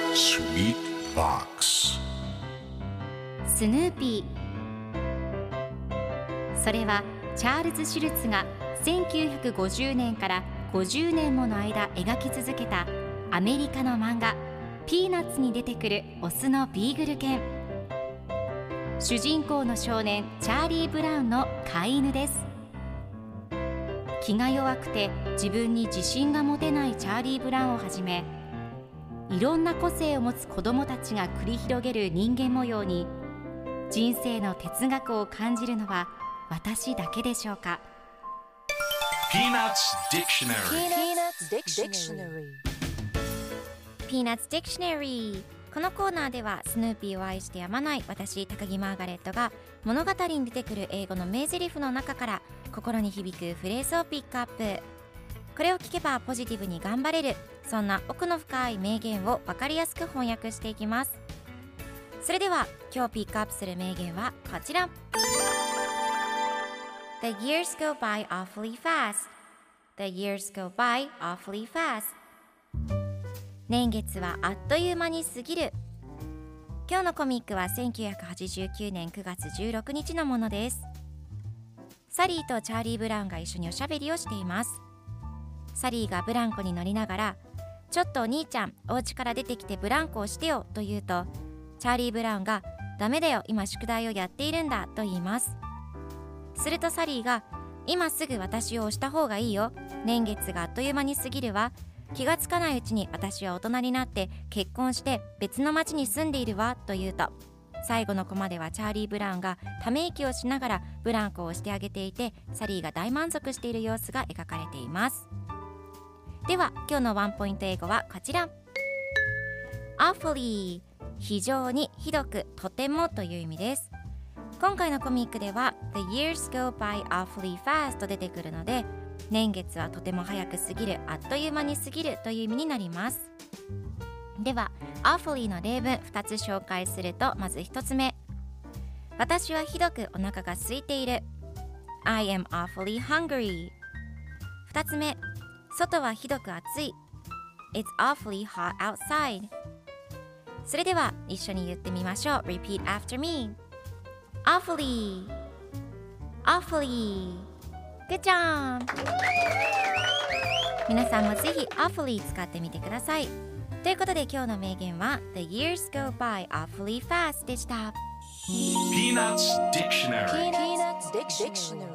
Sweet Box スヌーピー。それはチャールズ・シュルツが1950年から50年もの間描き続けたアメリカの漫画ピーナッツに出てくるオスのビーグル犬。主人公の少年チャーリー・ブラウンの飼い犬です。気が弱くて自分に自信が持てないチャーリー・ブラウンをはじめ、いろんな個性を持つ子どもたちが繰り広げる人間模様に人生の哲学を感じるのは私だけでしょうか。 Peanuts Dictionary Peanuts Dictionary。 このコーナーではスヌーピーを愛してやまない私高木マーガレットが物語に出てくる英語の名台詞の中から心に響くフレーズをピックアップ。これを聞けばポジティブに頑張れる、そんな奥の深い名言を分かりやすく翻訳していきます。それでは今日ピックアップする名言はこちら。 The years go by awfully fast. The years go by awfully fast. 年月はあっという間に過ぎる。今日のコミックは1989年9月16日のものです。サリーとチャーリー・ブラウンが一緒におしゃべりをしています。サリーがブランコに乗りながら、ちょっとお兄ちゃん、お家から出てきてブランコをしてよと言うと、チャーリー・ブラウンがダメだよ、今宿題をやっているんだと言います。するとサリーが、今すぐ私を押した方がいいよ、年月があっという間に過ぎるわ、気がつかないうちに私は大人になって結婚して別の町に住んでいるわと言うと、最後のコマではチャーリー・ブラウンがため息をしながらブランコをしてあげていて、サリーが大満足している様子が描かれています。では今日のワンポイント英語はこちら。 Awfully、 非常に、ひどく、とてもという意味です。今回のコミックでは The years go by awfully fast と出てくるので、年月はとても早く過ぎる、あっという間に過ぎるという意味になります。では awfully の例文2つ紹介すると、まず1つ目、私はひどくお腹が空いている。 I am awfully hungry。 2つ目、外はひどく暑い。 It's awfully hot outside。 それでは一緒に言ってみましょう。 Repeat after me。 Awfully Awfully。 Good job。 皆さんもぜひ Awfully 使ってみてください。ということで今日の名言は The years go by awfully fast でした。 Peanuts Dictionary